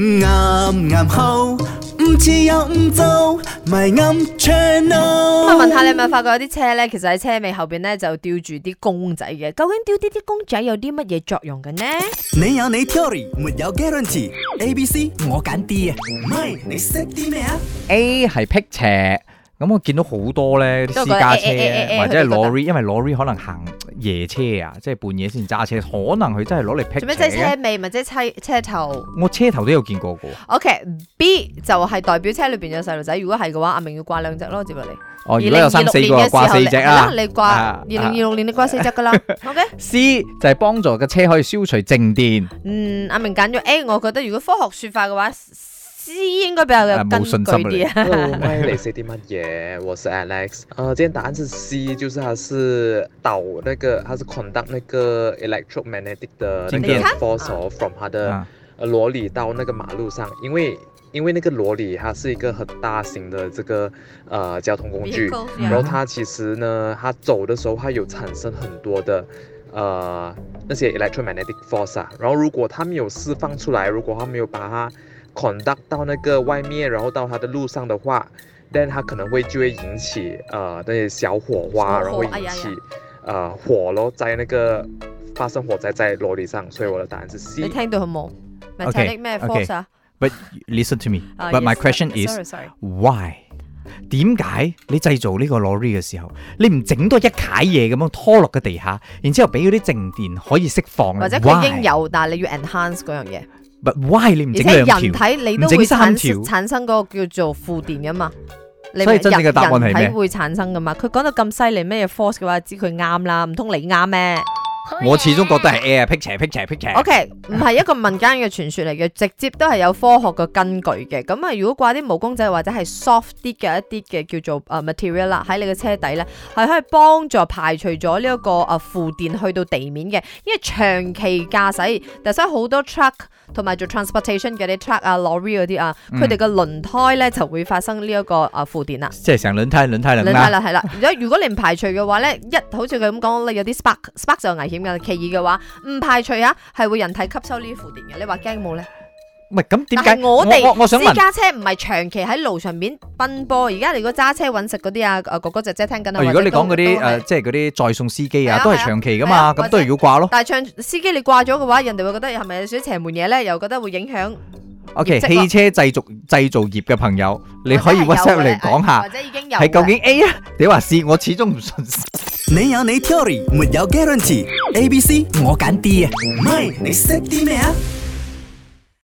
啱啱好，唔似又唔做，咪啱 channel。 咁問下你有冇發覺有啲車咧，其實喺車尾後邊咧就吊住啲公仔嘅？究竟吊啲公仔有啲乜嘢作用嘅呢？ 你有你 theory，沒有 guarantee。A、B、C 我揀 D 啊，唔係你識啲咩啊 ？A 係辟邪。咁我見到好多咧啲私家車或者係 lorry， 因為 lorry 可能行夜車啊，即係半夜先揸車，可能佢真係攞嚟辟邪。 做咩即係車尾，咪即係車頭？ 我車頭都有見過嘅。 OK，B 就係代表車裏邊有細路仔，如果係嘅話，阿明要掛2隻咯，接落嚟。 哦，如果有3、4個，掛4隻啦。 你掛2026年你掛4隻噶啦。 OK。C 就係幫助個車可以消除靜電。 阿明揀咗 A， 我覺得如果科學說法嘅話。C 應該比較有根據啲啊。 你識啲乜嘢？我是 Alex。今天答案是 C， 就是它是導那個，它是 conduct 那個 electromagnetic 的那個 force from 它的羅里到那個馬路上，因為那個羅里它是一個很大型的這個交通工具，然後它其實呢，它走的時候，它有產生很多的那些 electromagnetic force 啊，然後如果它沒有釋放出來，如果它沒有把它conduct 到那個外面，然後到它的路上的話，但它可能就會引起那些小火花，然後會引起火咯，在那個發生火災在羅里上，所以我的答案是 C。 你聽到好冇？咪睇啲咩 force 啊 ？But listen to me. But my question is why？ 點解你製造呢個 lorry 嘅時候，你唔整多一楷嘢咁樣拖落個地下，然之後俾嗰啲靜電可以釋放？ 或者佢已經有，但係你要 enhance 嗰樣嘢。 But why 你唔整2條？ 而且人體你都會產生嗰個叫做負電噶嘛。 所以真正嘅答案係咩？ 人體會產生噶嘛？佢講到咁犀利咩 force 嘅話，知佢啱啦，唔通你啱咩？ 我始終覺得係 A 啊，辟邪。 OK， 唔係一個民間嘅傳說嚟嘅，直接都係有科學嘅根據嘅。咁啊，如果掛啲毛公仔或者係 soft 啲嘅一啲嘅叫做material 啦，喺你嘅車底咧，係可以幫助排除咗呢一個負電去到地面嘅。因為長期駕駛，但係好多 truck 同埋做 transportation 嘅啲 truck 啊、lorry 嗰啲啊，佢哋嘅輪胎咧就會發生呢一個負電啦。 即係成輪胎啦， 係啦。如果你唔排除嘅話咧，好似佢咁講，你有啲 spark 就危險。其二嘅話，唔排除係會人體吸收呢啲負電嘅。你話驚冇咧？ 唔係咁點解？ 我想問私家車唔係長期喺路上面奔波。而家你如果揸車揾食嗰啲啊，哥哥姐姐聽緊啊。 如果你講嗰啲即係嗰啲載送司機啊，都係長期噶嘛，咁都係要掛咯。 但係司機你掛咗嘅話，人哋會覺得係咪有少少邪門嘢咧？又覺得會影響。 OK， 汽車製造業嘅朋友，你可以 WhatsApp 嚟講下， 或者已經有係究竟 A 啊？你話 C， 我始終唔信。 你有你 theory，沒有 guarantee。A、B、C 我揀 D 啊，唔係你識啲咩啊？